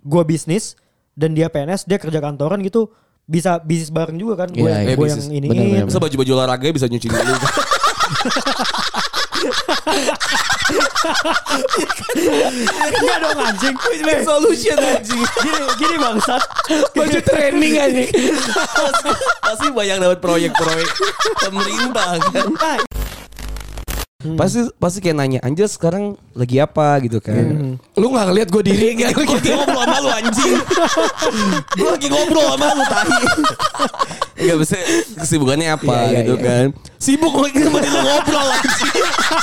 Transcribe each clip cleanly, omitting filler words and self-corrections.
gue bisnis dan dia PNS, dia kerja kantoran gitu, bisa bisnis bareng juga kan. Gue yang ini. Bisa baju-baju olahraga bisa nyuci dulu. Enggak dong anjing. Solution anjing. Gini bangsat. Baju training anjing. Pasti banyak dapat proyek-proyek pemerintah kan. Pasti kayak nanya, Anjas sekarang lagi apa gitu kan. Lu gak ngeliat gue diri gak? Gue lagi ngobrol sama lu anjing. Gue lagi ngobrol sama lu tahi. Enggak bisa kesibukannya apa gitu kan. Sibuk lagi sama dia ngobrol anjing.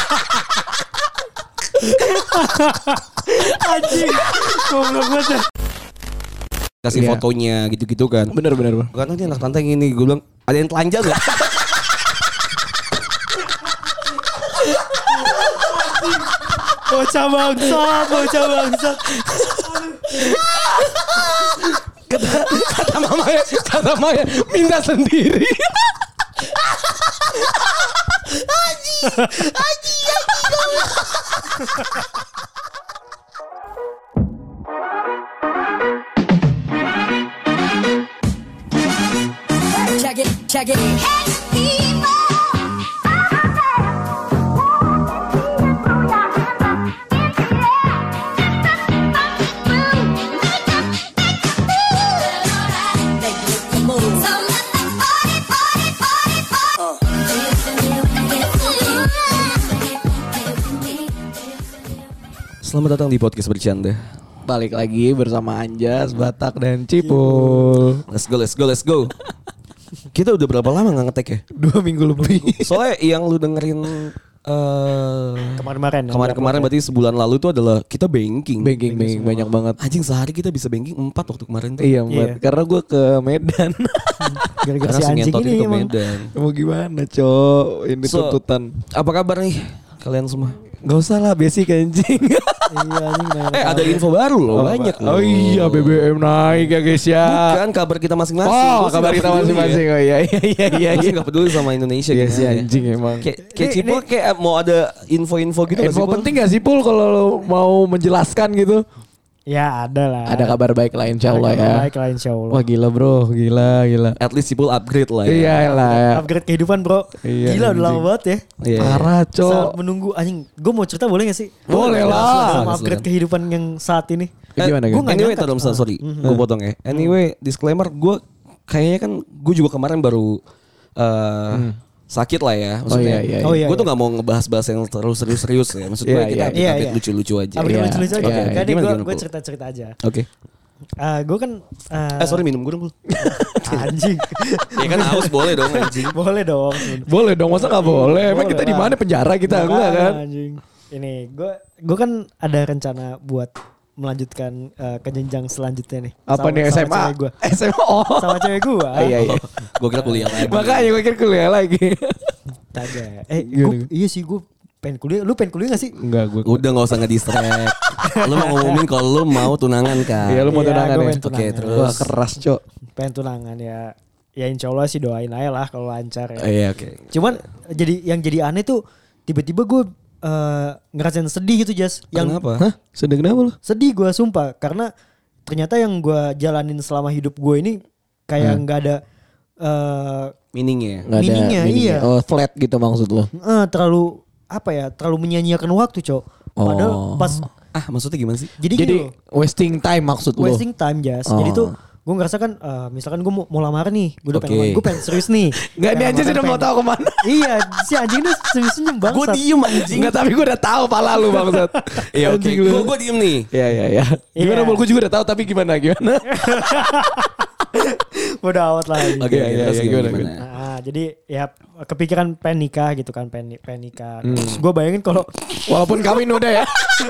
Anjing. Goblok banget. Kasih fotonya gitu-gitu kan. Bener. Bukan nanti anak tante yang ini. Gue bilang, ada yang telanjang gak? Bocah bangsat. Kata Maya minta sendiri. Check it. Hey, people. Selamat datang di podcast bercanda. Balik lagi bersama Anjas, Batak, dan Cipul. Let's go. Kita udah berapa lama gak ngetek ya? 2 minggu lebih. Soalnya yang lu dengerin kemarin berarti sebulan lalu itu adalah kita banking banyak banget. Anjing sehari kita bisa banking 4 waktu kemarin tuh. Iya. Karena gue ke Medan. Gara-gara si anjing ini ke emang. Medan. Mau gimana cok? Ini tuntutan. Apa kabar nih kalian semua? Gak usah lah basic anjing. Iya anjing. Ada info baru loh, banyak loh. Oh iya BBM naik ya guys ya. Bukan kabar kita masing-masing. Oh kabar kita masing-masing. Oh iya. Gue gak peduli sama Indonesia gitu ya. Anjing emang. Kayak Cipul kayak mau ada info-info gitu. Info penting gak sih Pul kalau lo mau menjelaskan gitu? Ya ada lah. Ada kabar baik lah insya Allah ya. Baik lah insya Allah. Wah gila bro, gila. At least Cipul upgrade lah ya. Iya lah ya. Upgrade kehidupan bro. Iya, Gila udah lama banget ya. Iya. Parah cok. Saat menunggu anjing. Gue mau cerita boleh gak sih? Boleh lah. Sama upgrade kehidupan yang saat ini. Gimana Gue gak Anyway, nyangka. sorry. Gue potong ya. Anyway, disclaimer gue kayaknya kan gue juga kemarin baru sakit lah ya. Maksudnya gue tuh gak mau ngebahas-bahas yang terlalu serius-serius ya. Maksud gue kita update lucu-lucu aja. Update lucu-lucu aja. Gimana, Gue cerita-cerita aja. Oke. Gue kan Sorry minum gue dong. anjing. Ya kan haus boleh dong anjing. Boleh dong. Boleh dong, masa gak boleh? Emang kita di mana, penjara kita? Enggak kan? Anjing. Ini gue kan ada rencana buat melanjutkan ke jenjang selanjutnya nih. Apa nih SMA? Sama cewek gue. SMA Sama cewek gue. Iya. Gue kira kuliah lagi. Makanya gue kira kuliah lagi. Kagak. Iya sih gue pengen kuliah. Lu pengen kuliah gak sih? Enggak gue. Udah gak usah ngedistract. Lu mau ngomongin kalau lu mau tunangan kan. Iya lu mau tunangan ya. Oke terus. Wah keras cok. Pengen tunangan ya. Ya insya Allah sih doain aja lah kalau lancar ya. Iya oke. Cuman yang jadi aneh tuh tiba-tiba gue ngerasain sedih gitu Jas. Kenapa? Hah? Sedih kenapa lu? Sedih gue sumpah karena ternyata yang gue jalanin selama hidup gue ini kayak nggak ada meaningnya. Nggak ada meaningnya, iya. Oh flat gitu maksud lu? Terlalu apa ya? Terlalu menyanyiakan waktu cok. Padahal pas maksudnya gimana sih? jadi wasting time maksud lu? wasting time Jas. Jadi tuh gue ngerasa kan misalkan gue mau lamaran nih, gue udah pengen gue pengen serius nih. Nggak ini aja sudah mau tahu kemana? Iya si anjing ini senyum banget. Gue diem anjing. Nggak tapi gue udah tahu pala lu bangsat. Iya oke. Gue diem nih. Iya. Gimana Bol? Gue juga udah tahu tapi gimana? Bodoh amat lah. Oke, gimana? Nah, jadi ya kepikiran pengen nikah gitu kan, pengen nikah. Terus gue bayangin kalau walaupun kawin udah ya.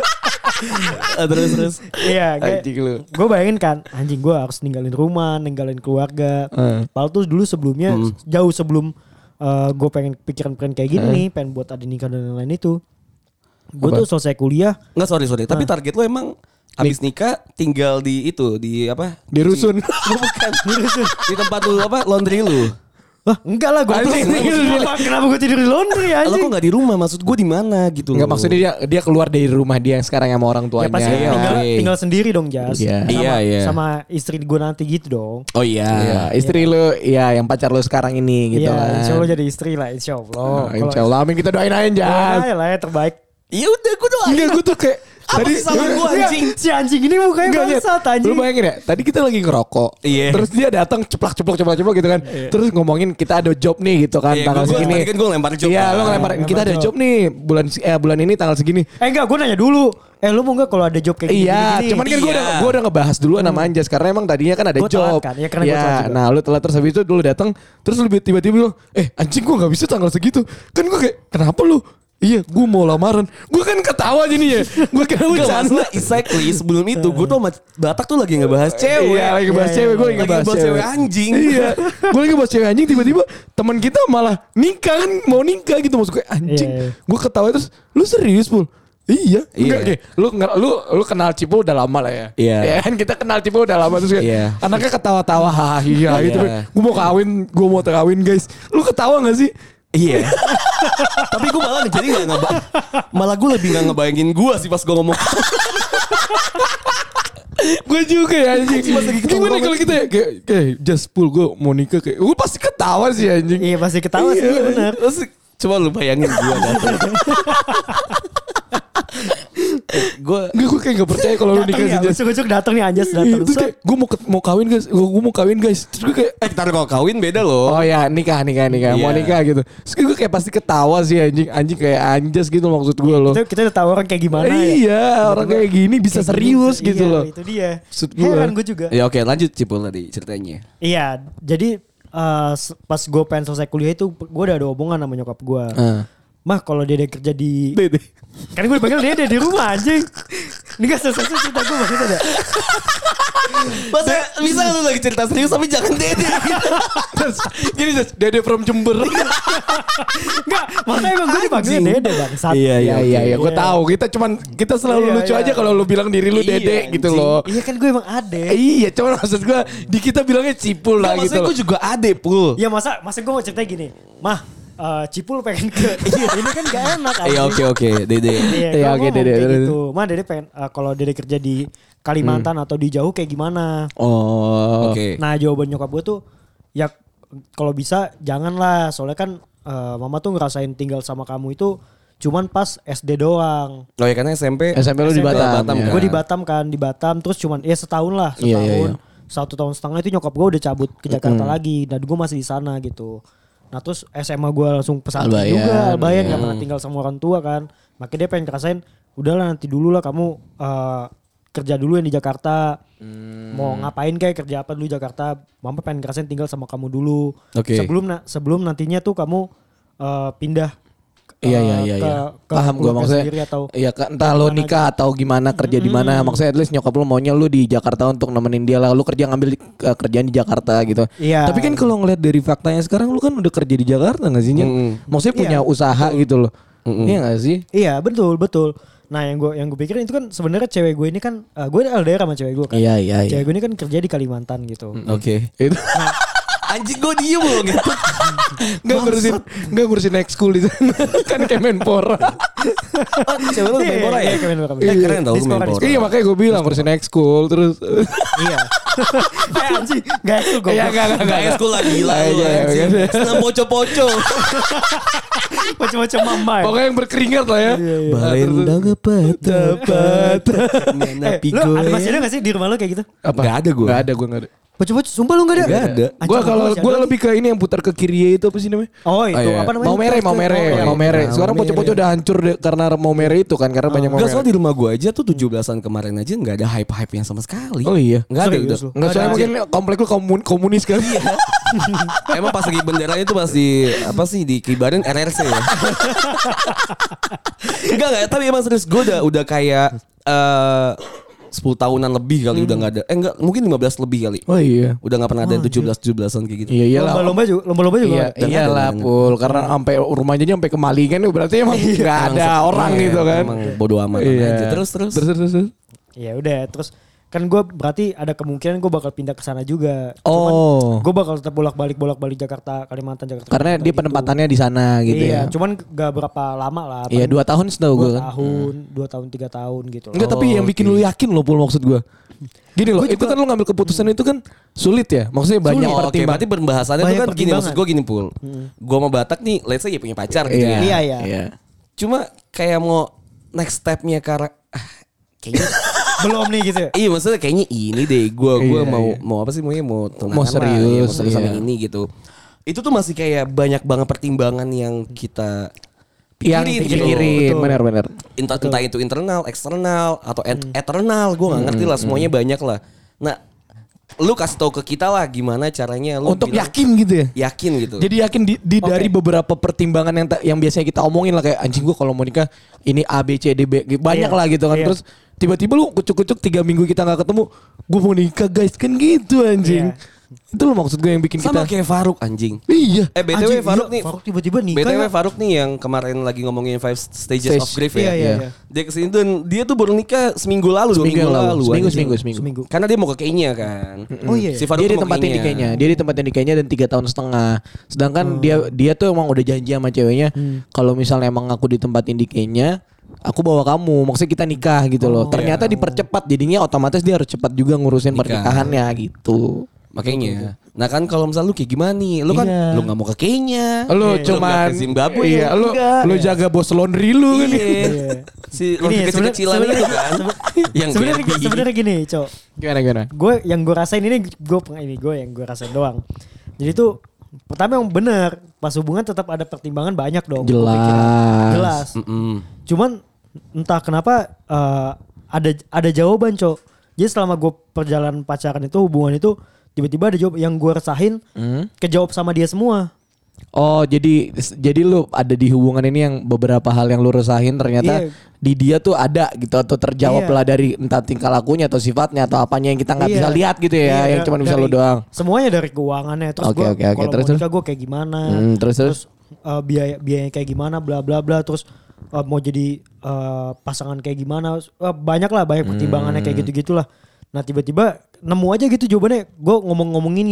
Terus. Iya, lu. gue bayangin kan, anjing gue harus ninggalin rumah, ninggalin keluarga. Padahal tuh dulu sebelumnya jauh sebelum gue pengen pikiran kayak gini nih, pengen buat ada nikah dan lain-lain itu. Gue tuh selesai kuliah. Enggak sorry. Tapi target lo emang habis nikah tinggal di itu di apa? Di rusun. Bukan di rusun. Di tempat lu apa? Laundry lu. Wah, enggak lah gue kenapa gue tidur di laundry Lo anjing? kok gak di rumah? Maksud gue di mana gitu Enggak loh. maksudnya dia keluar dari rumah dia yang sekarang sama orang Ya tuanya. pasti Iya, tinggal oke. sendiri dong Jas. Iya. Iya. Sama istri gue nanti gitu dong. Oh iya. Iya, istri lu ya yang pacar lu sekarang ini gitu Iya, kan. insya Allah jadi istri lah, insya Allah. Insya Allah, amin kita doain aja. Ya lah ya terbaik. Ya udah gue doain. Enggak, gue tuh kayak Apa sih salah gue anjing? Si anjing ini mukanya Enggak, bangsat Lu anjing. bayangin ya, tadi kita lagi ngerokok. Iya. Terus dia datang ceplak gitu kan. Terus ngomongin kita ada job nih gitu kan Iya, tanggal gua segini. tadi kan gua lempar job Iya, kan. lu ngelempar kita ada Lempar job nih bulan ini tanggal segini. Enggak, gue nanya dulu. Lu mau gak kalau ada job kayak gini? Iya, cuman kan Iya. gue udah ngebahas dulu sama Anjas karena emang tadinya kan ada Gua job. telat kan, ya karena gua telat juga. Nah, lu telat terus habis itu dulu datang, terus lu tiba-tiba bilang, anjing gue nggak bisa tanggal segitu. Kan gue kayak, kenapa lu? Iya, gue mau lamaran. Gue kan ketawa jadi ya. Gue kira Enggak bercanda. masalah exactly sebelum itu gue tuh sama Batak tuh lagi ngebahas cewek. Iya, lagi bahas Iya, cewek, gue iya, lagi ngebahas cewek anjing. Iya, gue lagi bahas cewek anjing tiba-tiba teman kita malah nikah kan mau nikah gitu maksud gue anjing. Iya. Gue ketawa terus, lu serius Pul? Iya, enggak Iya. kayak lu kenal Cipo udah lama lah ya. Iya. Ya kan kita kenal Cipo udah lama terus kayak Iya. anaknya ketawa-tawa hahaha gitu. Iya. Gue mau kawin guys. Lu ketawa gak sih? Iya. Tapi gue malah jadi malah gue lebih gak ngebayangin gue sih pas gue ngomong. Gue juga ya anjing. Pas lagi ketemu Gimana banget. kalau kita ya kayak just Pul gue mau nikah kayak gue pasti ketawa sih anjing. Iya pasti ketawa sih, iya benar. Terus coba lu bayangin gue datang. Gue kayak gak percaya kalau lu nikah sih Jas. Ucuk-ucuk datang nih Anjas Iya, datang. terus kayak gue mau kawin guys, gue mau kawin guys. Terus gue kayak Ntar kalau kawin beda loh. oh ya nikah mau Iya. nikah gitu. Terus gue kayak pasti ketawa sih anjing kayak Anjas gitu maksud gue loh. Kita udah tahu orang kayak gimana ya. Iya orang kayak gini bisa Kayak serius gini, gitu iya, loh. Itu dia. Maksud gua. Heran gue juga. Ya oke lanjut Cipul tadi ceritanya. Iya, jadi pas gue pengen selesai kuliah itu gue udah ada hubungan sama nyokap gue. Mah kalau Dede kerja di Dede. kan gue dipanggil Dede di rumah anjing. Ini gak selesai cerita gue maksudnya ada. Masa bisa lu lagi cerita serius tapi jangan Dede. Terus gini Jas, Dede from Jember. Enggak, makanya emang gue dipanggil Anjing. Dede bangsat. Iya gue tahu. Kita selalu Iya, lucu iya. aja kalau lu bilang diri lu Iya, Dede gitu anjing. loh. Iya kan gue emang ade. Iya, cuman maksud gue di kita bilangnya Cipul lah Nah, gitu maksudnya loh. gue juga ade Pul. Ya masa gue mau cerita gini. Mah, Cipul pengen ke ini kan gak enak anjing. Iya oke Dede. Iya, Iya, gua oke, ngomong Dede. kayak gitu. Mah Dede pengen kalau Dede kerja di Kalimantan atau di jauh kayak gimana? Oh. Oke. Nah jawaban nyokap gue tuh ya kalau bisa janganlah soalnya kan mama tuh ngerasain tinggal sama kamu itu cuman pas SD doang. Oh ya karena SMP SMP lu di Batam. Batam, ya. kan? Gue di Batam kan di Batam terus cuman ya setahun lah Iya, setahun. iya. 1 tahun setengah itu nyokap gue udah cabut ke Jakarta lagi dan gue masih di sana gitu. Nah terus SMA gue langsung pesantren Albayan, juga Albayan iya. gak pernah tinggal sama orang tua kan. Makanya dia pengen ngerasain udahlah nanti dulu lah kamu kerja dulu yang di Jakarta. Mau ngapain kayak kerja apa dulu di Jakarta. Mama pengen ngerasain tinggal sama kamu dulu. Oke. Sebelum nantinya tuh kamu pindah Iya. Paham gue keluarga maksudnya. sendiri atau Iya kan entah lo nikah atau gimana kerja di mana. Maksudnya at least nyokap lo maunya lo di Jakarta untuk nemenin dia lah. Lo kerja ngambil kerjaan di Jakarta gitu. Iya. Tapi kan kalau ngeliat dari faktanya sekarang lo kan udah kerja di Jakarta gak sih? Nyen? Maksudnya punya usaha gitu loh. Iya gak sih? Iya betul. Nah yang gue pikirin itu kan sebenarnya cewek gue ini kan gue LDR sama cewek gue kan. Iya. Cewek gue ini kan kerja di Kalimantan gitu. Oke. Itu Anjing gue diem loh gitu. Nggak ngurusin ekskul di sana. Kan Kemenpora. Cewek lu Kemenpora ya? Iya, Kemenpora. Keren tau Di sekolah, Kemenpora. Iya makanya gue bilang ngurusin ekskul terus. Iya. Anjing, gak ekskul gue. Iya Gak ekskul lah gila lu Iya, anjing. iya. Senam poco-poco. Macam-macam mama. Pokoknya yang berkeringat lah ya. Balenda dapat. Lu ada masih ada gak sih di rumah lu kayak gitu? Apa? Nggak ada gua. Nggak ada gue nggak ada. Pocok-pocok, sumpah lu gak ada? Nggak ada. Anjing, Gue kalau masih gue ada lebih ke ini yang putar ke kiri itu apa sih namanya? Oh itu iya. apa namanya? Mau mere. Sekarang Mau pocok-pocok udah hancur karena mau mere itu kan karena banyak mau Enggak mere. soal di rumah gue aja tuh 17-an kemarin aja gak ada hype-hype-nya sama sekali. Oh iya. Gak ada Serius udah. lu? Enggak soalnya mungkin komplek lu komunis kan. Iya. Emang pas lagi benderanya tuh masih apa sih dikibarin RRC ya. Enggak tapi emang serius gue udah kayak 10 tahunan lebih kali udah gak ada. Enggak mungkin 15 lebih kali. Oh iya. Udah gak pernah ada 17-17an kayak gitu. Iya iyalah. Lomba-lomba juga. Iya, Dan iyalah ada. Pul karena sampai rumahnya aja sampai kemalingan berarti emang enggak ada orang Iya, gitu kan. Emang bodo amat Iya. aja. Terus. Terus. Ya udah terus kan gue berarti ada kemungkinan gue bakal pindah ke sana juga. Oh. Gue bakal tetap bolak-balik Jakarta, Kalimantan, Jakarta. Karena dia penempatannya di sana gitu iya, ya. cuman gak berapa lama lah. Iya 2 tahun setahu gue 2 kan. tahun, 2 tahun 3 tahun gitu. Enggak, tapi yang bikin lu yakin loh Pul, maksud gue. Gini loh, itu kan lu ngambil keputusan itu kan sulit ya. Maksudnya banyak Oke, pertimbangan. berarti pembahasannya Banyak tuh kan gini, maksud gue gini Pul. Gue sama Batak nih, let's say ya punya pacar gitu ya. Iya. Cuma kayak mau next stepnya kayaknya Belum nih gitu. iya maksudnya kayaknya ini deh gue Iya, mau apa sih mau tunangan Mau lah, serius, mau serius sama iya. ini gitu. Itu tuh masih kayak banyak banget pertimbangan yang kita yang pikirin gitu. pikirin, Betul. benar-benar. Entah itu internal, eksternal atau eternal, gue nggak ngerti lah, semuanya banyak lah. Nah, lu kasih tahu ke kita lah gimana caranya lu Untuk bilang yakin gitu ya. yakin gitu. Jadi yakin dari beberapa pertimbangan yang biasanya kita omongin lah kayak anjing gua kalau mau nikah ini A B C D B banyak Iya. lah gitu kan. Iya. Terus tiba-tiba lu kucuk-kucuk 3 minggu kita nggak ketemu, gua mau nikah guys kan gitu anjing. Iya. Itu loh maksud gue yang bikin sama kita. kayak Faruk anjing. Iya. BTW Anjing, Faruk iya, nih. Faruk tiba-tiba nikah. BTW ya? Faruk nih yang kemarin lagi ngomongin 5 stages Stage. of grief Iya, ya. iya. Dia kesini tuh dia tuh baru nikah seminggu lalu, 2 minggu lalu. anjing. Seminggu. Karena dia mau ke Kenya kan. Oh iya. Si Faruk Dia tuh mau ke ditempatin di Kenya. Dia ditempatin di Kenya dan 3 tahun setengah. Sedangkan dia tuh emang udah janji sama ceweknya kalau misalnya emang aku ditempatin di Kenya, aku bawa kamu. Maksudnya kita nikah gitu loh. Ternyata dipercepat jadinya otomatis dia harus cepat juga ngurusin Nikah. pernikahannya gitu. Makanya. Nah kan kalau misalnya lu kayak gimana nih? Lu kan Iya. lu gak mau ke Kenya. Lu Lu cuman nggak ke Zimbabwe. iya, lu jaga bos laundry lu kan. Iya. Si Ini laundry kecil-kecilan itu kan. Yang sebenarnya gini, Cok. Gimana? Gue rasain ini gue yang gue rasain doang. Jadi tuh pertama yang bener, pas hubungan tetap ada pertimbangan banyak dong. gue pikirin. Jelas. Cuman entah kenapa ada jawaban, Cok. Jadi selama gue perjalanan pacaran itu, hubungan itu tiba-tiba ada jawab yang gue resahin kejawab sama dia semua. Oh, jadi lu ada di hubungan ini yang beberapa hal yang lu resahin ternyata Iya. di dia tuh ada gitu atau terjawab Iya. lah dari entah tingkah lakunya atau sifatnya atau apanya yang kita nggak Iya. bisa lihat gitu ya, Iya, yang cuma bisa dari- lu doang. Semuanya dari keuangannya. Terus Oke, gue oke. kalau Terus, mau nikah gue kayak gimana. Terus. Biayanya kayak gimana, bla bla bla. Terus mau jadi pasangan kayak gimana. Banyak pertimbangannya kayak gitu-gitulah. Nah tiba-tiba nemu aja gitu jawabannya. Gue ngomongin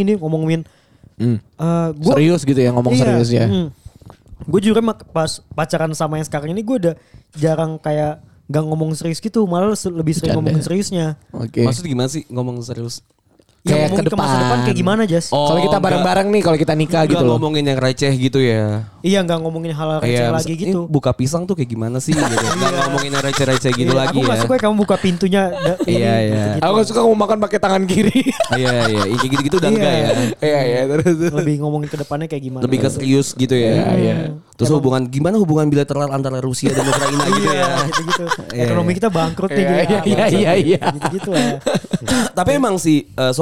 gua, Serius gitu ya ngomong serius ya. Gue jujur pas pacaran sama yang sekarang ini gue udah jarang kayak gak ngomong serius gitu. Malah lebih sering Bercanda. ngomongin seriusnya. Oke. Maksudnya gimana sih ngomong serius? Ya Kayak ngomongin ke ke masa depan depan. kayak gimana Jas? Oh, Kalau kita bareng-bareng nih, kalau kita nikah gitu Nggak loh. ngomongin yang receh gitu ya. Iya gak ngomongin hal-hal receh Kayak lagi ini gitu. buka pisang tuh kayak gimana sih gitu. Nggak ngomongin yang receh-receh gitu Iya, lagi aku gak ya. suka kamu buka pintunya. Iya, iya. gitu-gitu. Aku gak suka ngomong makan pakai tangan kiri. Iya iya, kayak gitu-gitu udah enggak ya. Iya, terus. Lebih ngomongin ke depannya kayak gimana. Lebih ke serius gitu ya. Terus gimana hubungan bilateral antara Rusia dan Ukraina gitu ya. Gitu-gitu. Iya, Ekonomi iya. kita bangkrut nih. Iya. Gitu-gitu lah. Tapi emang si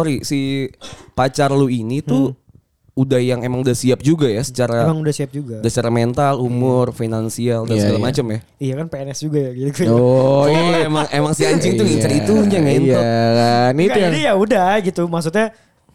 pacar lu ini tuh udah udah siap juga ya secara Emang udah siap juga. secara mental, umur, finansial dan Iya, segala iya. macam ya. Iya kan PNS juga ya gitu. Oh, iya. emang si anjing tuh ngincer itunya ngentot. Iya kan, itu Enggak, yang jadi ya udah gitu. Maksudnya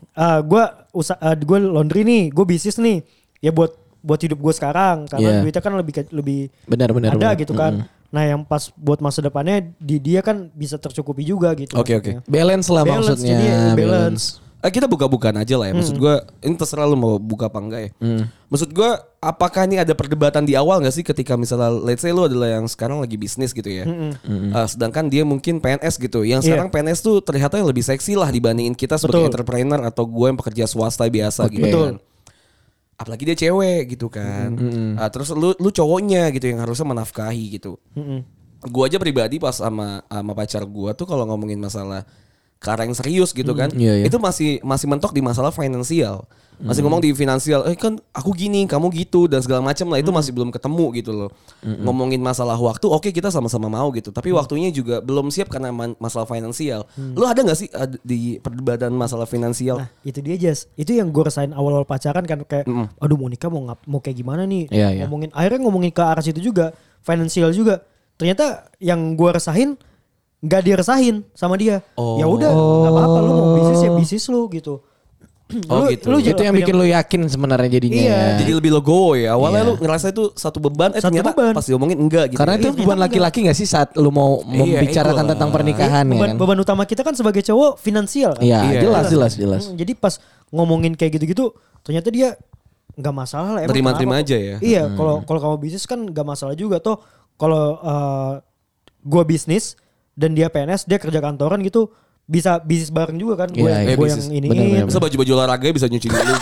gue laundry nih, gue bisnis nih. Ya buat hidup gue sekarang karena Iya. duitnya kan lebih benar-benar ada gitu kan. Nah yang pas buat masa depannya dia kan bisa tercukupi juga gitu. Oke, maksudnya. balance lah Balance, maksudnya. jadi ya, balance. Kita buka-bukaan aja lah ya. Maksud gue ini terserah lu mau buka apa enggak ya. Maksud gue apakah ini ada perdebatan di awal gak sih ketika misalnya let's say lu adalah yang sekarang lagi bisnis gitu ya. Sedangkan dia mungkin PNS gitu. Yang sekarang PNS tuh terlihatnya lebih seksi lah dibandingin kita sebagai Betul. entrepreneur atau gue yang pekerja swasta biasa gitu Betul. kan. Apalagi dia cewek gitu kan. Terus lu cowoknya gitu yang harusnya menafkahi gitu. Gue aja pribadi pas sama pacar gue tuh kalau ngomongin masalah karena yang serius gitu kan, Iya, iya. itu masih mentok di masalah finansial, masih ngomong di finansial, kan aku gini, kamu gitu dan segala macam lah, itu masih belum ketemu gitu loh. Ngomongin masalah waktu, oke kita sama-sama mau gitu, tapi waktunya juga belum siap karena masalah finansial. Lu ada nggak sih di perdebatan masalah finansial? Nah itu dia Jas. Itu yang gue rasain awal-awal pacaran kan kayak aduh mau nikah mau kayak gimana nih. Iya, iya. Ngomongin ke arah situ juga. Financial juga. Ternyata yang gue resahin nggak diresahin sama dia. Ya udah nggak apa-apa lu mau bisnis ya bisnis lu gitu. Oh gitu. Itu yang bikin lu yakin sebenarnya jadinya. Iya. Ya. Jadi lebih legowo ya. Awalnya lu ngerasa itu satu beban, Satu ternyata beban. pas diomongin enggak gitu. Karena itu beban laki-laki gak sih saat lu mau membicarakan ego tentang lah. pernikahan ya kan? Beban utama kita kan sebagai cowok finansial kan. Iya, Iya. jelas. Jadi pas ngomongin kayak gitu-gitu, ternyata dia nggak masalah lah. Emang Terima-terima kenapa aja kok? ya. Iya, kalau kamu bisnis kan nggak masalah juga toh. Kalau gua bisnis dan dia PNS, dia kerja kantoran gitu, bisa bisnis bareng juga kan. Gue Iya, gue bisnis. yang ini. Benar-benar. Masa baju-baju olahraga bisa nyuci dulu.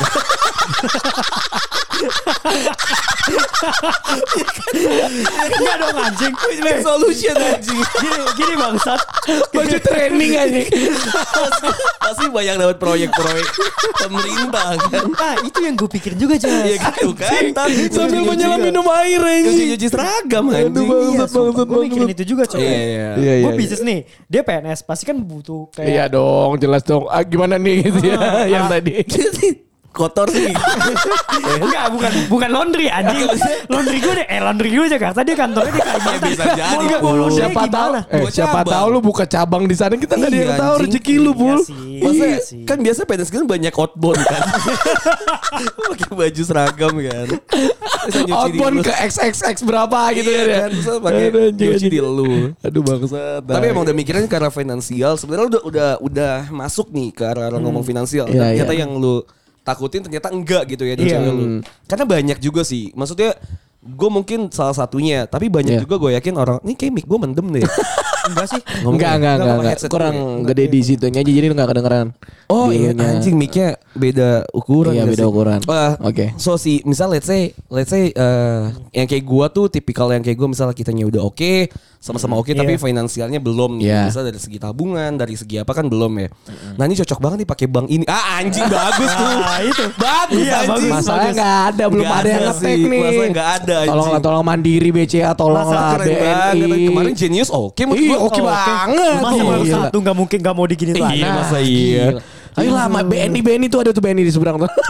Enggak dong anjing. Solution anjing. Gini bangsat. Baju training aja. Pasti banyak dapat proyek-proyek pemerintah kan. Ah itu yang gue pikir juga Jas. Iya gitu kan. Sambil menyelam minum air aja. Cuci seragam anjing. Iya, gue mikirin itu juga coy. Iya. Gue bisnis nih, dia PNS pasti kan butuh kayak Iya dong, jelas dong. Gimana nih gitu ya yang tadi. Kotor sih. enggak bukan laundry anjing. Laundry gue Jakarta, dia kantornya di Kalimantan. Bisa jadi, Mau Pul. laundry Siapa tahu? gimana? Buat Siapa cabang. tahu lu buka cabang di sana kita nggak ada yang Iya, tahu anjing. rezeki lu, Pul. Iya sih. Masa Iya sih. kan biasa PNS kan banyak outbound kan. Pakai baju seragam kan. Bisa nyuci di Outbound lu. ke XXX berapa gitu Iya kan ya. kan. Terus pakai Aduh, anjing, nyuci di anjing. lu. Aduh bangsat. Tapi emang udah mikirin ke arah finansial. Sebenarnya udah masuk nih ke arah ngomong finansial. Iya, Dan ternyata iya. yang lu takutin ternyata enggak gitu ya dari Iya. cewek lu. Karena banyak juga sih. Maksudnya gue mungkin salah satunya. Tapi banyak Iya. juga gue yakin orang. Ini kayak mic gue mendem deh. Enggak sih. Enggak. pakai headset Kurang gue. gede di situnya aja jadi lu enggak kedengeran. Oh iya Dulunya. anjing mic-nya beda ukuran. Iya, nggak beda sih? ukuran. Oke. So si misal let's say yang kayak gua tuh tipikal yang kayak gua misalnya kitanya udah oke, sama-sama oke tapi Iya. finansialnya belum nih. Iya. Misal dari segi tabungan, dari segi apa kan belum ya. Nah ini cocok banget nih pakai bank ini. Ah anjing bagus tuh. Ah, itu. Bagus Iya, anjing. bagus. Masalahnya enggak ada, belum Nggak ada yang ada ngetek sih. nih. Masalahnya nggak ada, anjing. Tolong Mandiri BCA, tolonglah Keren banget. BNI. Kemarin Genius oke menurut Iya, gua. oke banget. Masa baru Gila. satu nggak mungkin nggak mau digini lagi. Iya, masa iya. Ayolah BNI tuh ada tuh BNI di seberang tuh.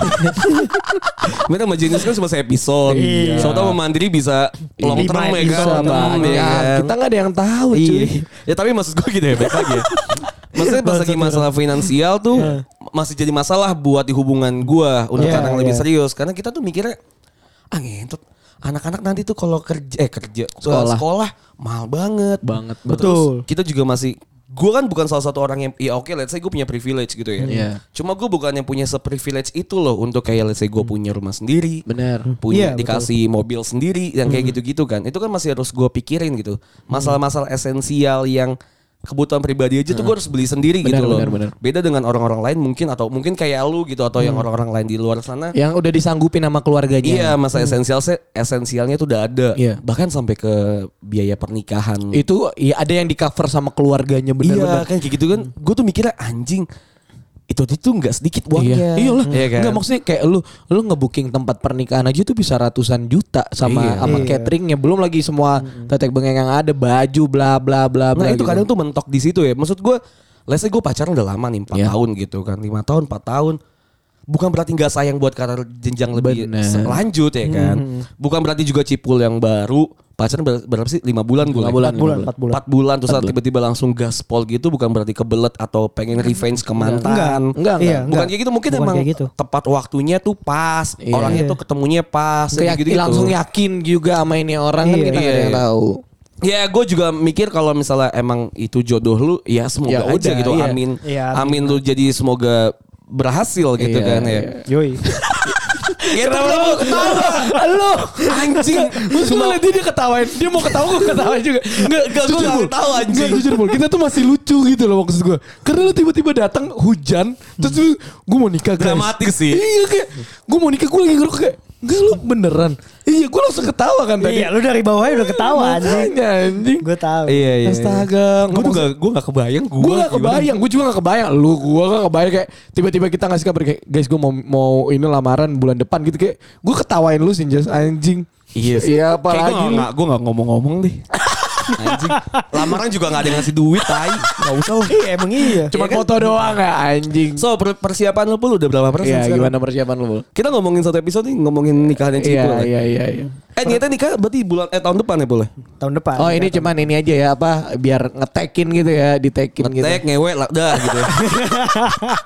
Mereka sama Genius kan cuma episode. Iya. Soalnya sama Mandiri bisa long term ya Bisa, kan. Long term, banyak. ya kan? Kita nggak ada yang tahu cuy. Iya. Ya tapi maksud gue gitu ya baik lagi ya. Maksudnya pas lagi masalah finansial tuh masih jadi masalah buat di hubungan gue untuk Iya, orang yang lebih iya. serius. Karena kita tuh mikirnya ngentot. Anak-anak nanti tuh kalau kerja sekolah mahal banget. Betul. Kita juga masih gue kan bukan salah satu orang yang ya oke let's say gue punya privilege gitu ya. Iya. Cuma gue bukan yang punya seprivilege itu loh untuk kayak let's say gue punya rumah sendiri. Bener. Punya Iya, dikasih mobil sendiri yang kayak gitu-gitu kan. Itu kan masih harus gue pikirin gitu. Masalah-masalah esensial yang kebutuhan pribadi aja tuh gue harus beli sendiri gitu loh. bener. Beda dengan orang-orang lain mungkin atau mungkin kayak lu gitu atau yang orang-orang lain di luar sana. Yang udah disanggupin sama keluarganya. Iya, masa esensialnya tuh udah ada. Iya. Bahkan sampai ke biaya pernikahan. Itu ya ada yang di cover sama keluarganya bener-bener. Iya kan kayak gitu kan. Gue tuh mikirnya anjing. Itu nggak sedikit uangnya. Iyalah. Iya kan? Enggak maksudnya kayak lu ngebooking tempat pernikahan aja tuh bisa ratusan juta sama cateringnya, belum lagi semua tetek bengeng yang ada, baju bla bla bla bla. Nah itu gitu. kadang tuh mentok di situ ya. Maksud gue, let's say gue pacaran udah lama nih 4 Iya. tahun gitu kan. 5 tahun, 4 tahun. Bukan berarti gak sayang buat karir jenjang lebih Bener. lanjut ya kan. Bukan berarti juga cipul yang baru. Pacaran berapa sih? 5 bulan gue. 5 bulan. 4 bulan. 4 bulan terus tiba-tiba langsung gaspol gitu. Bukan berarti kebelet atau pengen revenge ke mantan. Enggak. Iya, Bukan enggak. kayak gitu. Mungkin Bukan emang kayak gitu. tepat waktunya tuh pas. Iya. Orangnya tuh ketemunya pas. Kayak gitu-gitu. langsung yakin juga sama ini orang kan Iya. kita nggak ada yang Iya. tahu. Ya gue juga mikir kalau misalnya emang itu jodoh lu. Ya semoga Ya aja udah, gitu. iya. Amin. Iya, Amin lu jadi semoga berhasil gitu Iya, kan ya. Yoi. Kenapa lu ketawa? Lu Anjing. Terus gue liat dia ketawain. Dia mau ketawa gue ketawain juga. Enggak, gue gak ketawa anjing. Enggak jujur Bol. Kita tuh masih lucu gitu loh maksud gue. Karena lu tiba-tiba datang hujan. Terus gue mau nikah guys. Dramatis sih. Iya kayak. Gue mau nikah gue lagi ngerokok kayak. Enggak lu beneran. Iya gue langsung ketawa kan tadi. Iya, lu dari bawahnya udah ketawa anjing. Makanya, anjing. Gue tahu. Iya. Astaga. Gue gak kebayang. Gue gak kebayang. Gue juga gak kebayang. Gue gak kebayang kayak. Tiba-tiba kita ngasih kabar kayak. Guys gue mau ini lamaran bulan depan gitu kayak. Gue ketawain lu sih Jas anjing. Iya sih. Iya apalagi lu. Gue gak ngomong-ngomong deh. Anjing. Lamaran juga gak ada yang ngasih duit tai. Gak usah lah. Iya emang iya. Cuma foto doang ya anjing. So persiapan lu Pul udah berapa persen Iya sekarang? gimana persiapan lu Bol? Kita ngomongin satu episode nih. Ngomongin nikahan yang Iya cipul lah. iya. Niatnya nikah berarti tahun depan ya boleh? Tahun depan. Oh ini cuman ini aja ya apa biar ngetekin gitu ya ditekin gitu. Ngetek ngewe lah dah gitu.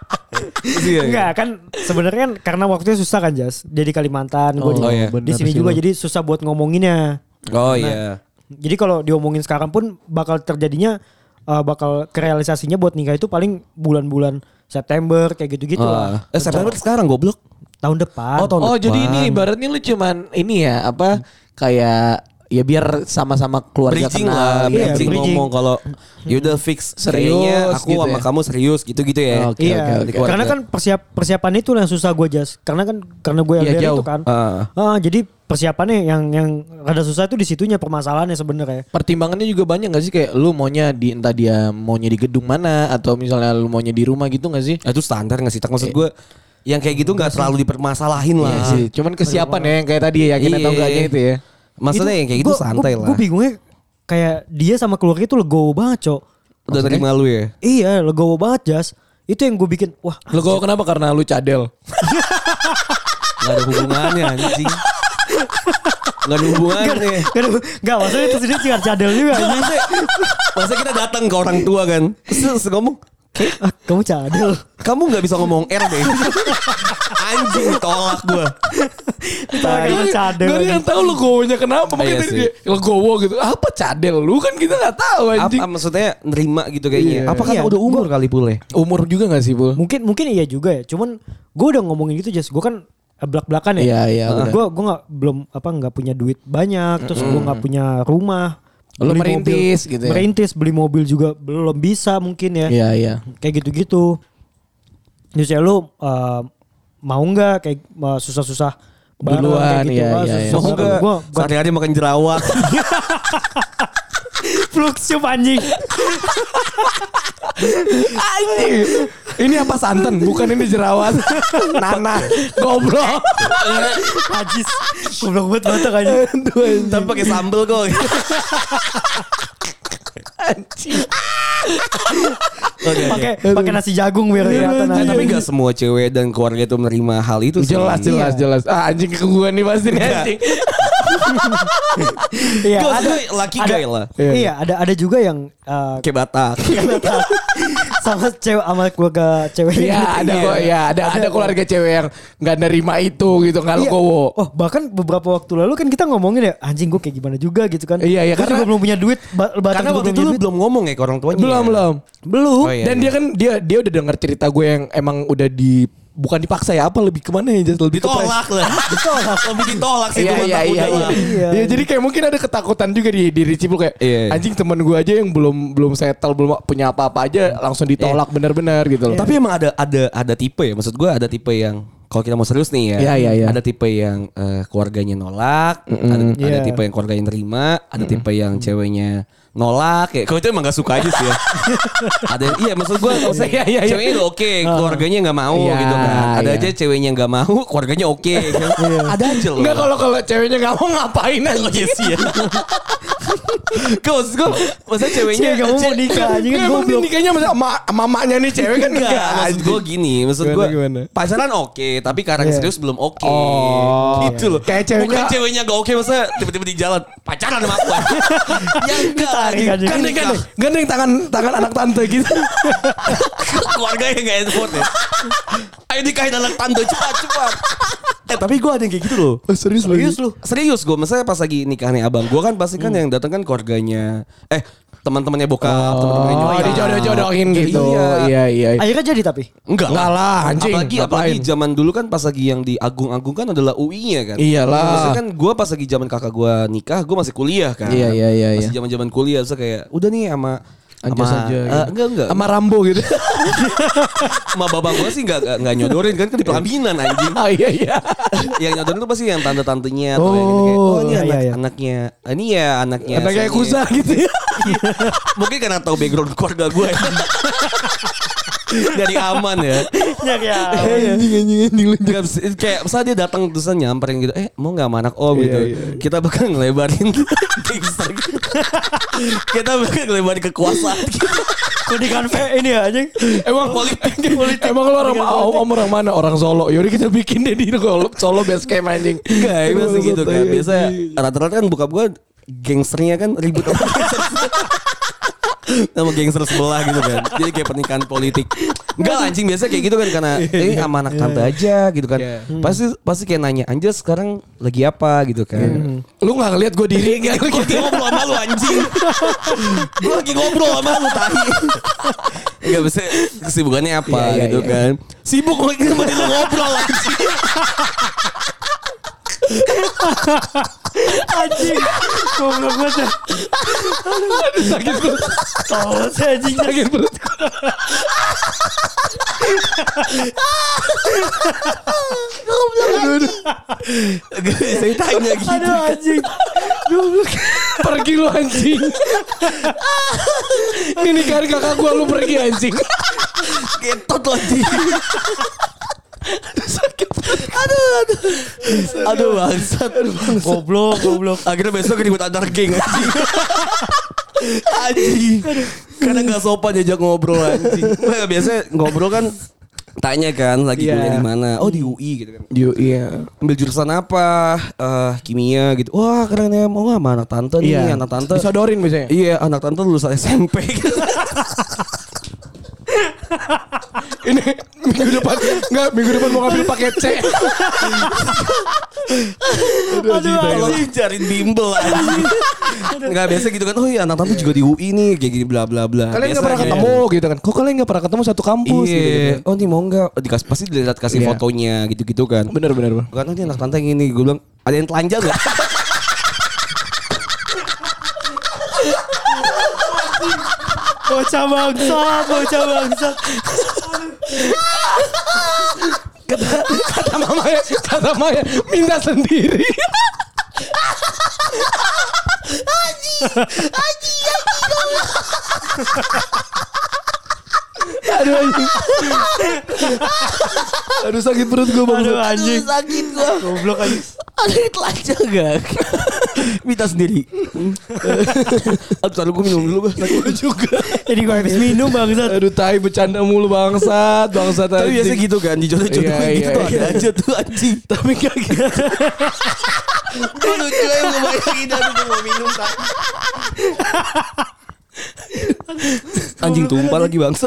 Enggak kan sebenarnya kan karena waktunya susah kan Jas. Dia di Kalimantan, gue di sini juga jadi susah buat ngomonginnya. Oh iya. Jadi kalau diomongin sekarang pun bakal terjadinya bakal kerealisasinya buat nikah itu paling bulan-bulan September kayak gitu-gitu lah. September sekarang goblok. Tahun depan. Oh jadi ini ibaratnya lu cuman ini ya apa kayak ya biar sama-sama keluarga Bridging kenal. lah, Iya, bridging bridging. ngomong kalau yaudah fix Serius kayaknya aku gitu sama ya? kamu serius gitu-gitu ya. Oke, Iya, oke. karena kan persiapan itu yang susah gue Jas. Karena gue Iya, LDR jauh. itu kan. Jadi persiapannya yang rada susah itu di situnya permasalahannya sebenarnya. Pertimbangannya juga banyak gak sih kayak lu maunya di entah dia maunya di gedung mana atau misalnya lu maunya di rumah gitu gak sih? Itu standar nggak sih? Maksud gue yang kayak gitu nggak terlalu dipermasalahin lah. Iya sih, cuman kesiapan ya yang kayak tadi ya yakin atau enggaknya itu ya. Maksudnya yang kayak gitu santai lah. Gue bingungnya kayak dia sama keluarga itu legowo banget Cok. Udah terima lu ya. Iya legowo banget Jas. Itu yang gue bikin wah. Lu kok kenapa? Karena lu cadel. Gak ada hubungannya anjing. Gak ada hubungannya. Gak maksudnya itu sendiri tinggal cadel juga anjing. Masa kita datang ke orang tua kan. Terus ngomong, Kamu cadel. kamu gak bisa ngomong R deh. Anjing tolak gue. Kamu cadel. Gak ada yang tahu legowonya kenapa. Makanya Iya tadi sih. dia legowo gitu. Apa cadel? Lu kan kita gak tahu anjing. Apa maksudnya nerima gitu kayaknya. Iya. Apa karena Iya, udah umur kali pule. Umur juga gak sih, Bul? Mungkin iya juga ya. Cuman gue udah ngomongin gitu Jas. Gue kan belak-belakan ya. Iya, benar. Gue nggak punya duit banyak. Terus gue nggak punya rumah. Lu Beli merintis mobil, gitu ya? Merintis beli mobil juga belum bisa mungkin ya. Iya. Kayak gitu-gitu. Terus ya lu mau nggak kayak susah-susah bareng Duluan, kayak gitu. iya, iya, iya. Susah Mau bareng. gak Gua sehari-hari makan jerawat. fluxium anjing. Anjing. Ini apa santan? Bukan ini jerawat. Nana. Goblok. Najis. Goblok banget batak anjing. Tapi pakai sambel kok. Pakai nasi jagung biar kelihatan aja. Tapi gak semua cewek dan keluarga itu menerima hal itu sih. Jelas. Ah, anjing ke gua nih pasti nih anjing. Iya, Gak, ada laki gay lah. Iya, ada juga yang Kayak Batak. sama keluarga cewek. Iya, ada kok. Ya, ada keluarga cewek yang enggak nerima itu gitu, enggak Iya. legowo. Oh, bahkan beberapa waktu lalu kan kita ngomongin ya, anjing gue kayak gimana juga gitu kan. Iya, Gua karena- juga belum punya duit. Karena waktu itu lu belum ngomong ya ke orang tuanya. Belum. belum. Oh, iya. Dan dia kan dia udah dengar cerita gue yang emang udah bukan dipaksa ya, apa lebih kemana ya? Lebih ke Ditolak lah. Ditolak. Lebih ditolak sih. Iya, itu iya, mah iya, takutnya. iya. Iya, jadi kayak mungkin ada ketakutan juga di diri Cipul kayak Iya. anjing teman gue aja yang belum settle, belum punya apa-apa aja langsung ditolak benar-benar gitu loh. Tapi emang ada tipe ya. Maksud gue ada tipe yang kalau kita mau serius nih ya. Iya. Ada tipe yang keluarganya nolak, ada Iya. tipe yang keluarganya nerima, ada tipe yang ceweknya nolak. Kayak kalau itu emang gak suka aja sih ya. Iya maksud gue Iya. ceweknya udah oke, keluarganya gak mau Iya, gitu kan. Ada iya. aja ceweknya gak mau, keluarganya oke. Ada aja loh. Enggak, kalau ceweknya nggak mau ngapain aja. Oh iya sih ya. Maksud gue masa ceweknya Cewek gak mau nikah anjing kan Emang goblok. nikahnya sama mamanya nih cewek kan Enggak, maksud gue gini, maksud gue Gimana? pacaran oke, tapi karena Iya. serius belum oke. Oh, Gitu loh. kayak ceweknya- Bukan ceweknya gak oke, masa tiba-tiba di jalan pacaran sama aku. Ya enggak, Ditarik aja. Gandeng tangan anak tante gitu. keluarganya gak effort ya. Ayo nikahin anak tante cepat. Tapi gue ada yang kayak gitu loh. Serius lu? Serius gue, maksudnya pas lagi nikahnya abang gue kan pasti kan yang datang kan keluarganya, teman-temannya bokap, teman-temannya Oh, nyokap. dijodoh-jodohin gitu. Iya. Iya. Akhirnya jadi tapi. Enggak lah, anjing. Apalagi Ngapain? zaman dulu kan pas lagi yang di Agung kan adalah UI-nya kan. Iyalah. Maksudnya kan gue pas lagi zaman kakak gue nikah, gue masih kuliah kan. Iya. Masih zaman kuliah, so kayak udah nih sama Anjas aja. enggak. Sama Rambo gitu. Sama babang gue sih enggak nyodorin kan di pelaminan anjing. Oh iya. Yang nyodorin tuh pasti yang tante-tantenya atau yang gitu kayak, Oh, ini iya. anaknya. Ini ya anaknya. Kayak Soalnya- Kuza gitu ya. Mungkin karena tahu background keluarga gue. Dari aman ya. Nyari ya. Anjing. Gak, kayak misalnya dia datang terusan nyamperin gitu, mau gak sama anak om gitu. Iya. Kita bakal ngelebarin gangster gitu. Kita bakal ngelebarin kekuasaan gitu. Kudikan ini ya anjing. Emang Emang lu orang mana? Orang Solo. Yaudah kita bikin deh di Solo base camp anjing. Enggak, biasa gitu kan. Biasa Anjing. rata-rata kan bokap gue gangsternya kan ribut sama gangster. Nama gangster sebelah gitu kan. Jadi kayak pernikahan politik. Enggak lah, anjing, biasa kayak gitu kan karena ini sama anak tante aja gitu kan. Pasti kayak nanya, Anjas sekarang lagi apa gitu kan. Lu gak ngeliat gue diri gak? Gue lagi ngobrol sama lu anjing. Gue lagi ngobrol sama lu tahi. Enggak bisa kesibukannya apa gitu kan. Sibuk lagi sama lu ngobrol anjing. Anjing. Goblok banget. Aduh sakit perut. Tahu saya anjing Sakit perut. Saya tanya gitu. Aduh anjing. Pergi lu anjing. Ini kan kakak gua, lu pergi anjing. Getot lo anjing. Sakit. Aduh bangsat. Goblok. Akhirnya besok ribut antar geng anjing. Anjing. Karena gak sopan diajak ngobrol anjing. Biasanya ngobrol kan tanya kan lagi kuliah di mana. Oh di UI gitu kan. Iya. Ambil jurusan apa? Kimia gitu. Wah keren ya. Oh sama anak tante nih. Anak tante. Disodorin biasanya. Iya anak tante lulusan SMP gitu. Ini minggu depan mau ngambil paket C. Aduh anjing. Cariin bimbel anjing. Enggak biasa gitu kan. Oh iya anak tante juga di UI nih kayak gini bla bla bla. Kalian gak pernah ketemu gitu kan. Kok kalian gak pernah ketemu satu kampus Iya. gitu. Oh nih mau enggak? Pasti dilihat kasih fotonya gitu-gitu kan. Bener. Bukan oh ini anak tante yang ini. Gue bilang ada yang telanjang gak? Bocah bangsa. Kata Maya minta sendiri. Aduh anjing. Aduh sakit perut gue bang. Aduh anjing. Sakit gue. Goblok anjing. Ada yang telanjang gak? Minta sendiri. Aduh taruh gue minum dulu bang. Gue juga. Jadi gue habis minum bangsat. Aduh tai bercanda mulu bangsat Tapi anjing. biasa gitu kan. Di jodoh-jodoh gitu tuh ada aja tuh anjing. Tapi gak gitu. Gue lucu ya gue bayangin dan gue mau minum tak. Anjing tumpah lagi bangsat.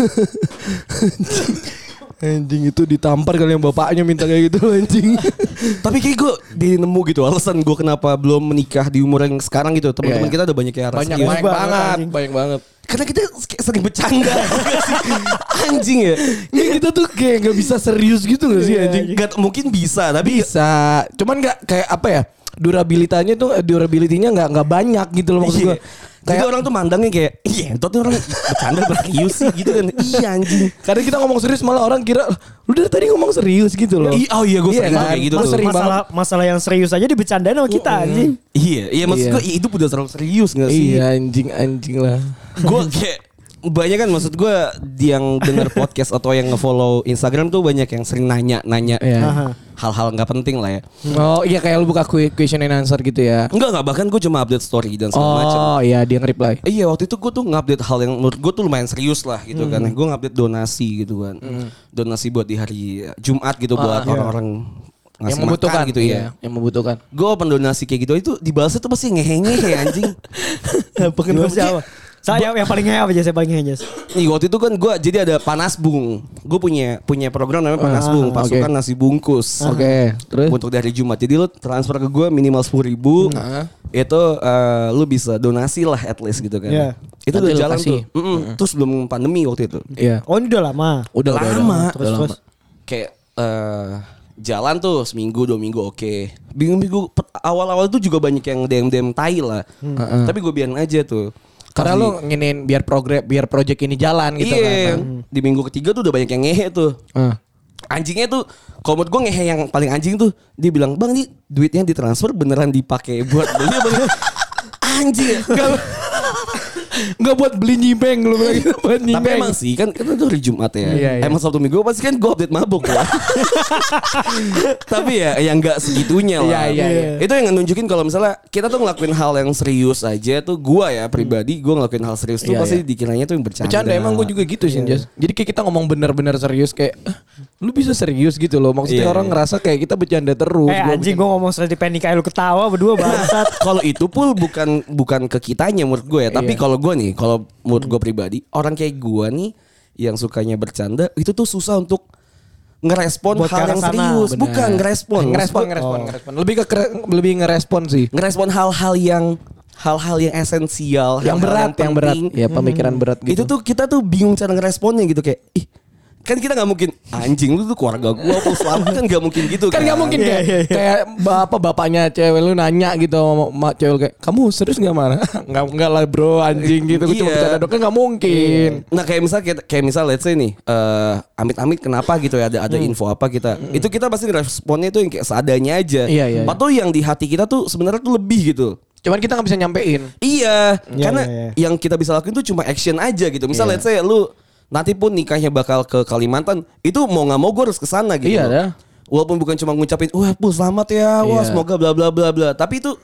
Anjing itu ditampar kali yang bapaknya minta kayak gitu anjing. Tapi kayak gue nemu gitu alasan gue kenapa belum menikah di umur yang sekarang gitu. Teman-teman kita ada banyak yang Banyak banget. Karena kita sering bercanda. Anjing ya. Ini kita tuh kayak gak bisa serius gitu gak sih anjing? Gak mungkin bisa tapi Bisa. Cuman gak kayak apa ya? Durability-nya nggak banyak gitu loh maksud gue. Kayak orang tuh mandangnya kayak iya entot orang bercanda berkius sih gitu kan. Iya anjing. Kadang kita ngomong serius malah orang kira lu dari tadi ngomong serius gitu loh. Oh iya gue sering kan? kayak gitu Mas tuh. sering Masalah yang serius aja dibecandain sama kita anjing. Iya maksud gue itu udah terlalu serius gak sih? Iya anjing lah. Gue kayak banyak kan maksud gue yang denger podcast atau yang nge-follow Instagram tuh banyak yang sering nanya Iya. hal-hal nggak penting lah ya. Oh iya kayak lu buka question and answer gitu ya. Enggak bahkan gue cuma update story dan segala macam. Oh iya dia nge-reply. Iya waktu itu gue tuh ngupdate hal yang menurut gue tuh lumayan serius lah gitu kan. Gue ngupdate donasi gitu kan. Donasi buat di hari Jumat gitu buat orang-orang Yang ngasih membutuhkan makan gitu ya. Yang membutuhkan. Gue open donasi kayak gitu itu dibalasnya tuh pasti ngehe-ngehe anjing. Pengen siapa? Saya yang paling ngehe apa aja saya paling ngehe aja. Nih waktu itu kan gue jadi ada Panas Bung. Gue punya program namanya Panas Bung, pasukan nasi bungkus. Oke, terus Untuk dari Jumat. Jadi lu transfer ke gue minimal 10.000. Itu lu bisa donasi lah at least gitu kan. Iya. Itu Nanti udah lu jalan kasih. tuh. Terus belum pandemi waktu itu. iya. Oh ini udah lama. Udah Lama. Terus. Kayak jalan tuh seminggu 2 minggu oke. Minggu awal-awal tuh juga banyak yang DM tai lah. Tapi gue biarin aja tuh. Karena lu nginin biar project ini jalan gitu iya, kan. di minggu ketiga tuh udah banyak yang ngehe tuh. Anjingnya tuh, kalau menurut gue ngehe yang paling anjing tuh, dia bilang bang nih duitnya ditransfer beneran dipakai buat beli apa? Anjing. Enggak buat beli nyimeng lu bilang gitu buat nyimeng. Tapi emang sih kan itu hari Jumat ya. Iya. Emang Sabtu Minggu pasti kan gue update mabuk ya. Tapi ya yang nggak segitunya lah. Iya. Itu yang nunjukin kalau misalnya kita tuh ngelakuin hal yang serius aja tuh gue ya pribadi gue ngelakuin hal serius tuh Iya, pasti dikiranya tuh yang bercanda. Bercanda emang gue juga gitu sih Jas. Jadi kayak kita ngomong bener-bener serius kayak Lu bisa serius gitu loh. Maksudnya Iya, orang ngerasa kayak kita bercanda terus. Anjing gue ngomong soal di Penny kayak lu ketawa berdua bangsat. Kalau itu pun bukan ke kitanya menurut gue ya. Tapi kalau gue nih, kalau menurut gue pribadi, orang kayak gue nih yang sukanya bercanda itu tuh susah untuk ngerespon Buat hal ke arah yang sana. serius. Bener. Bukan ngerespon. ngerespon. Lebih ngerespon sih. Ngerespon hal-hal yang esensial, Yang hal-hal berat, yang berat. penting. Ya pemikiran berat gitu. Itu tuh kita tuh bingung cara ngeresponnya gitu kayak ih kan kita nggak mungkin anjing lu tuh keluarga gua apa selamat kan nggak mungkin gitu Kan gak mungkin kayak bapaknya cewek lu nanya gitu sama cewek lu kayak kamu serius gak marah? Enggak lah bro anjing gitu. Cuma Iya. bercanda dong kan gak mungkin. Nah kayak misal let's say nih amit-amit kenapa gitu ya ada info apa kita itu kita pasti responnya itu yang kayak seadanya aja. Iya. Atau yang di hati kita tuh sebenarnya tuh lebih gitu. Cuman kita gak bisa nyampein. Iya, Iya, karena iya. yang kita bisa lakuin tuh cuma action aja gitu. Misal Iya. let's say lu nanti pun nikahnya bakal ke Kalimantan, itu mau nggak mau gue harus kesana gitu. Iya loh. dah. Walaupun bukan cuma ngucapin, wah Pul selamat ya, wah Iya. semoga bla bla bla bla. Tapi itu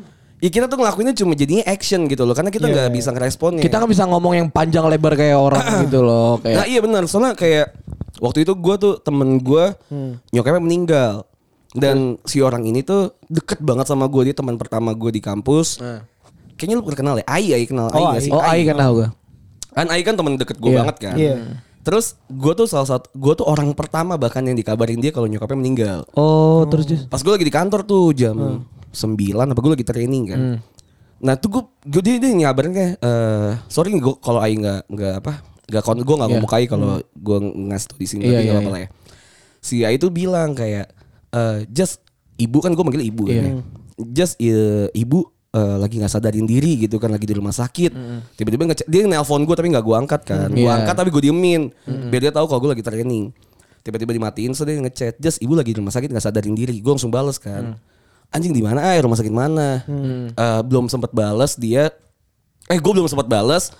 ya kita tuh ngelakuinnya cuma jadinya action gitu loh, karena kita nggak bisa ngeresponnya. Kita gak bisa ngomong yang panjang lebar kayak orang gitu loh. Nah Kayak iya benar, soalnya kayak waktu itu gue tuh temen gue nyokapnya meninggal. Dan si orang ini tuh deket banget sama gue, dia teman pertama gue di kampus. Kayaknya lu pernah kenal ya, Ai kenal Ai nggak sih? Ai kan tahu gue. Kan Ai kan temen deket gue Iya. banget kan. Iya. Terus gue tuh gue tuh orang pertama bahkan yang dikabarin dia kalau nyokapnya meninggal. Oh terus Jus. Pas gue lagi di kantor tuh jam 9 apa gue lagi training kan. Nah tuh dia ngabarin kayak sorry gue kalau Ai nggak gue nggak ngomong Ai kalau gue ngasih tau di sini tapi nggak apa-apa lah ya. Si Ai tuh bilang kayak just ibu kan gue manggil ibu kan. Just ibu lagi nggak sadarin diri gitu kan lagi di rumah sakit. Tiba-tiba dia nelpon gue tapi nggak gue angkat kan. Gue angkat tapi gue diemin biar dia tahu kalau gue lagi training. Tiba-tiba dimatiin so dia ngechat, just ibu lagi di rumah sakit nggak sadarin diri. Gue langsung bales kan. Anjing di mana rumah sakit mana? Belum sempat bales dia. Gue belum sempat bales.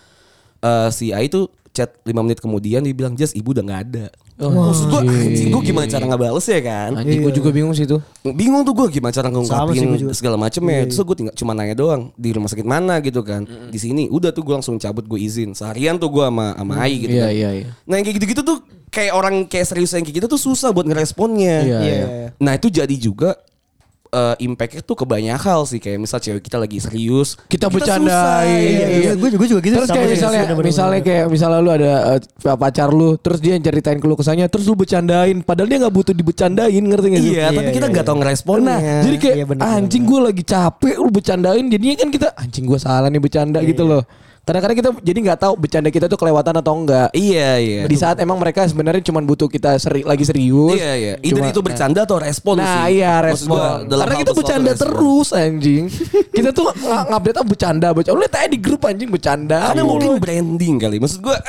Si Ai tuh chat 5 menit kemudian dia bilang just ibu udah nggak ada. Maksud gue anjing gue gimana cara ngebales ya kan? Anjing gue juga bingung sih tuh. Bingung tuh gue gimana cara Sama sih ngungkapin gua juga. segala macem ya. Terus gue tinggal cuma nanya doang di rumah sakit mana gitu kan. Di sini udah tuh gue langsung cabut gue izin. Seharian tuh gue sama Ai gitu kan. Iya. Nah yang kayak gitu-gitu tuh kayak orang kayak serius yang kayak gitu tuh susah buat ngeresponnya. Iya. Nah itu jadi juga impactnya tuh ke banyak hal sih. Kayak misal cewek kita lagi serius Kita susah. bercandain. Iya, gue juga gitu. Terus kayak misalnya lu ada pacar lu, terus dia ceritain keluh kesahnya, terus lu bercandain, padahal dia nggak butuh dibercandain, ngerti nggak sih? Iya, tapi kita nggak tahu ngeresponnya. Nah, jadi kayak Iya, bener, anjing gue lagi capek, lu bercandain, jadinya kan kita anjing gue salah nih bercanda gitu loh. Kadang-kadang kita jadi nggak tahu bercanda kita tuh kelewatan atau enggak. Iya. Di saat emang mereka sebenarnya cuma butuh kita lagi serius. Iya. Either Cuma- itu bercanda atau respon Nah sih. iya Maksud respon. gua, dalam Karena hal kita sesuatu bercanda respon. terus anjing. Kita tuh ngupdate bercanda. Lu lihat aja di grup anjing bercanda. Karena mungkin branding kali. Maksud gue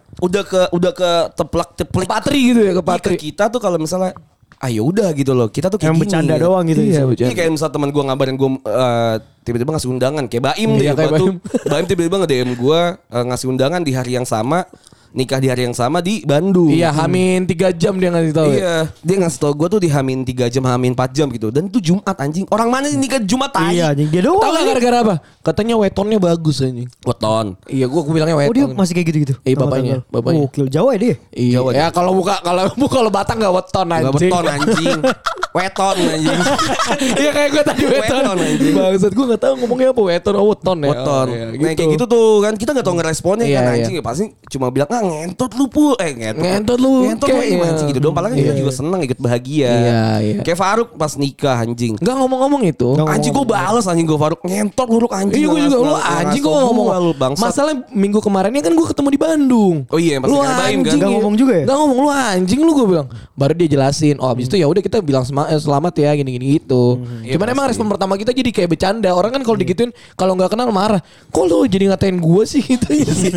udah ke teplak-teplik Patri gitu ya ke ke Patri. kita tuh kalau misalnya ayo udah gitu loh. Kita tuh kayak Yang gini. bercanda doang gitu. Iya, ya. bercanda. Ini kayak misal teman gue ngabarin gue tiba-tiba ngasih undangan kayak Baim deh. Iya, kayak Gua tuh, Baim. Baim tiba-tiba nge-DM gue ngasih undangan di hari yang sama, nikah di hari yang sama di Bandung. Iya Hamin 3 jam dia ngasih tahu. Ya? Iya, dia ngasih tau gue tuh di Hamin 3 jam, Hamin 4 jam gitu. Dan itu Jumat anjing. Orang mana sih nikah Jumat tai? Iya, anjing dia doang. Tahu gak gara-gara apa? Katanya wetonnya bagus anjing. Weton. Iya gua bilangnya Oh dia weton. masih kayak gitu-gitu. Iya, bapaknya. Oh, gokil. Jawa ya dia. Iya. Jawa. Ya kalau kalau Batak gak weton anjing. Gak weton anjing. Weton anjing. Iya kayak gue tadi weton. Weton, anjing. Bangsat gue gak tahu ngomongnya apa weton oh weton ya. Weton. Oh, iya, Nah kayak gitu tuh kan kita gak tau ngeresponnya Iya, kan iya. anjing ya pasti cuma bilang ngentot lu Pul. Ngentot lu. Ngentot lu Kayak, gimana iya. sih gitu doang. Padahal kan kita Iya. juga seneng ikut bahagia. Iya. Kayak Faruk pas nikah anjing. Enggak ngomong-ngomong itu. Nggak Anjing gue balas anjing gue Faruk ngentot lu anjing. Iya gue juga lu Nggak anjing ngasih gue ngomong. lu bangsat. Masalah minggu kemarinnya kan gue ketemu di Bandung. Oh iya pas Lu nikah Baim kan. anjing Nggak ngomong juga ya? Nggak ngomong lu anjing lu gue bilang. Baru dia jelasin. Oh abis itu ya udah kita bilang selamat ya gini-gini gitu. Iya, Cuman emang pasti. respon pertama kita jadi kayak bercanda. Orang kan kalau digituin kalau nggak kenal marah. Kok lu jadi ngatain gue sih gitu ya sih.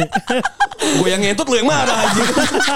Gue yang ngentot lu yang marah anjing.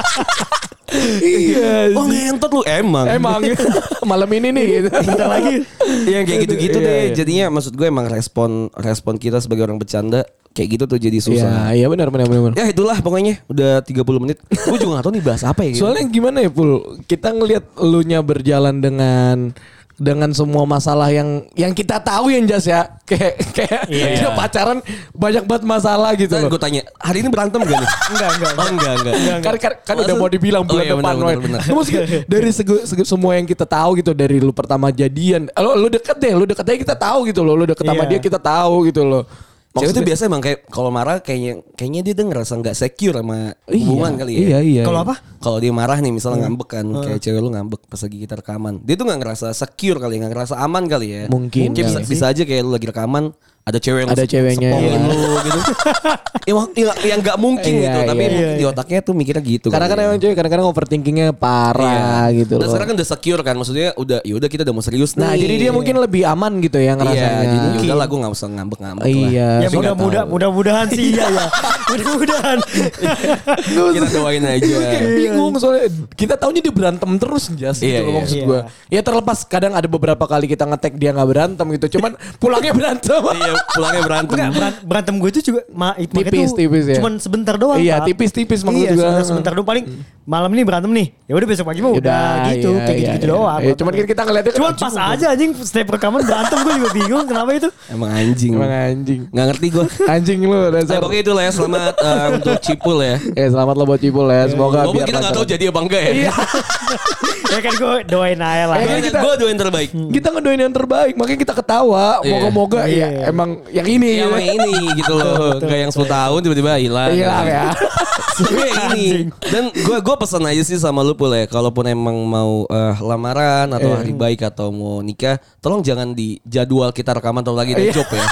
Iya. Oh ngentot lu emang. Emang malam ini nih gitu. Bentar lagi. Yang kayak gitu-gitu Iya, deh. iya. Jadinya maksud gue emang respon kita sebagai orang bercanda kayak gitu tuh jadi susah. Iya benar. Ya itulah pokoknya udah 30 menit. Gue juga gak tahu nih bahas apa ya. Soalnya gimana ya Pul? Kita ngelihat elunya berjalan dengan dengan semua masalah yang kita tahu yang Jas ya. Kayak dia pacaran banyak banget masalah gitu Nah, loh. gue tanya, hari ini berantem gak nih? Enggak. Oh enggak. Kan udah mau dibilang bulan iya, depan. benar. Maksudnya dari semua yang kita tahu gitu, dari lu pertama jadian, lu deket aja kita tahu gitu loh, lu deket sama dia kita tahu gitu loh. Cewek itu biasa emang kayak kalau marah kayaknya dia tuh ngerasa nggak secure sama hubungan kali ya. Iya. Kalau apa? Kalau dia marah nih misalnya ngambek kan, kayak cewek lu ngambek pas lagi kita rekaman, dia tuh nggak ngerasa secure kali, nggak ngerasa aman kali ya. Mungkin Kayak bisa aja kayak lu lagi rekaman, ada cewek yang Ada ceweknya, sepongin iya. lu gitu. yang nggak mungkin Iya, gitu, tapi iya. di otaknya tuh mikirnya gitu. Karena kan kali ya. emang cewek kadang-kadang overthinkingnya parah gitu Dan loh. sekarang kan udah secure kan, maksudnya udah kita udah mau serius nih. Nah jadi dia mungkin lebih aman gitu ya iya, ngerasanya. jadi udah lah gue nggak usah ngambek-ngambek lah. Iya. Ya Tapi nggak tahu. mudah-mudahan sih iya ya. Mudah-mudahan. Kita doain aja. Bingung soalnya kita taunya dia berantem terus Jas gitu Iya, loh iya. maksud Iya. gue. Ya terlepas kadang ada beberapa kali kita nge-tag dia gak berantem gitu. Cuman pulangnya berantem. Iya, pulangnya berantem. Enggak, berantem gue itu juga Tipis ya. cuman sebentar doang. Iya, Pak. tipis-tipis maksud Iya, gua. sebentar doang paling malam ini berantem nih. Ya udah besok pagi mah udah gitu, iya, kayak gitu-gitu iya. doang. Iya, cuman kita ngeliatnya Cuman pas aja anjing setiap rekaman berantem gue juga bingung kenapa itu. Emang anjing. Emang anjing. Nggak ngerti gue. Anjing lu Nah, dasar. pokoknya itu lah ya, selamat untuk Cipul ya. Selamat lo buat Cipul ya. Semoga Walaupun biar kita nggak tahu lancar. jadi apa enggak ya. Iya. Ya kan gue doain aja lah. Gue doain terbaik. Kita ngedoain yang terbaik, makanya kita ketawa. Iya. Moga-moga Iya. ya emang yang ini. Yang ini gitu loh. Gak yang 10 tahun tiba-tiba hilang. Hilang ya. Sebenarnya ini. Dan gue pesan aja sih sama lu Pul ya. Kalaupun emang mau lamaran atau hari baik atau mau nikah, tolong jangan di jadwal kita rekaman atau lagi job ya.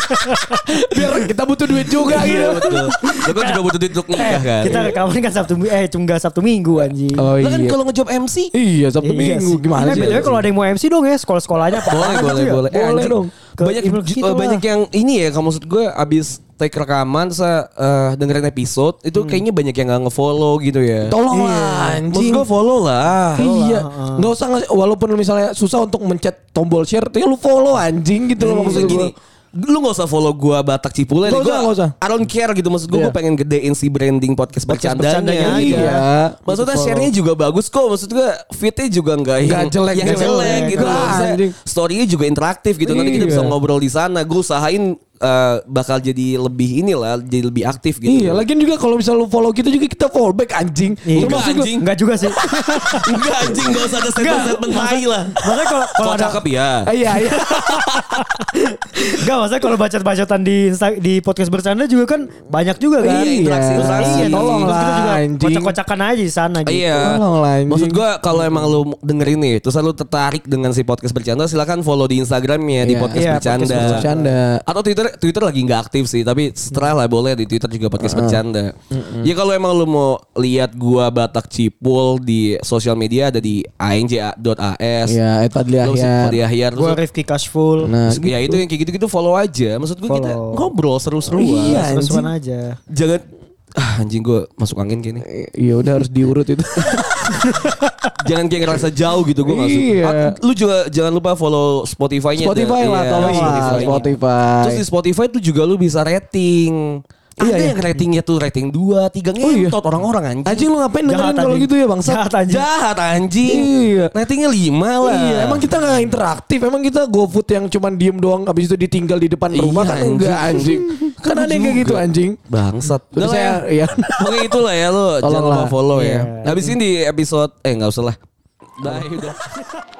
Biar kita butuh duit juga Iya gitu. betul. Lu kan juga butuh duit untuk nikah kan. Kita rekaman kan cuma Sabtu Minggu anjing. Oh Lu kan iya. kalau ngejob MC Iya, Sabtu Iya Minggu sih. gimana sih? BTW kalau ada yang mau MC dong ya sekolah-sekolahnya apa boleh. Boleh Anjing, dong. Ke Banyak email kita lah. banyak yang ini ya, kalau maksud gue abis take rekaman saya dengerin episode itu kayaknya banyak yang nggak ngefollow gitu ya. Tolong Iya. lah Maksud anjing. gue follow lah. Iya, nggak usah walaupun misalnya susah untuk mencet tombol share, ya lu follow anjing gitu loh maksud Gini, gue. lu gak usah follow gua Batak Cipulen. Nggak Gua usah, nggak usah. I don't care gitu. Maksud gue Iya. gue pengen gedein si branding podcast bercandanya. bercandanya Iya. aja. Maksudnya Gitu, share-nya juga bagus kok. Maksud gue fit-nya juga nggak yang jelek, yang nggak jelek jelek. gitu. Nggak, Maksudnya anjing. story-nya juga interaktif gitu. Nanti kita Iya. bisa ngobrol di sana. Gue usahain bakal jadi lebih inilah, jadi lebih aktif gitu. Iya, lagian juga kalau misal lu follow kita juga kita follow back anjing. Iya. Enggak, Maksud gua- anjing. Enggak juga sih. Enggak anjing, gak usah ada statement-statement tai lah. Maksudnya kalau Kalau ada cakep ya. Iya. enggak maksudnya kalau bacot-bacotan di podcast bercanda juga kan banyak juga kan. Iya, interaksi. Iya, Tolong terus kita lah, juga anjing. kocak-kocakan aja di sana gitu. Iya. Tolong lah, anjing. Maksud gue kalau emang lu dengerin nih, terus lu tertarik dengan si podcast bercanda, silakan follow di Instagramnya di Iya. podcast Iya, bercanda. podcast bercanda. Atau Twitter lagi nggak aktif sih, tapi setelah lah boleh di Twitter juga podcast bercanda. Ya kalau emang lu mau lihat gua Batak Cipul di sosial media ada di anj.as. Iya, Fadli Lu Ahyar. Fadli Ahyar. Gue Terus Rifki Cashful. Nah, ya itu yang kayak gitu-gitu follow aja. Maksud gue kita Follow. ngobrol seru-seruan. Iya, Seru-seruan aja. Jangan anjing gue masuk angin gini. Iya udah harus diurut itu. Jangan kayak ngerasa jauh gitu gue nggak suka. Iya. Lu juga jangan lupa follow Spotify-nya. Spotify lah, Iya, tolong lah Spotify-nya. Spotify. Terus di Spotify tuh juga lu bisa rating. Iya, Ada iya. yang ratingnya tuh rating 2, 3 Oh, iya. ngentot orang-orang anjing. Anjing lu ngapain dengerin Jahat, kalau anjing. gitu ya bangsa? Jahat anjing. Jahat anjing. Iya. Ratingnya 5 lah. Iya, emang kita gak interaktif. Emang kita GoFood yang cuman diem doang habis itu ditinggal di depan Iya, rumah kan anjing. enggak anjing. Kan ada yang kayak gitu anjing. Bangsat. Terus Udah lah saya ya. ya. Pokoknya itulah ya lu jangan Tolonglah. lupa follow ya. Iya. Habis ini di episode enggak usah lah. Dah udah.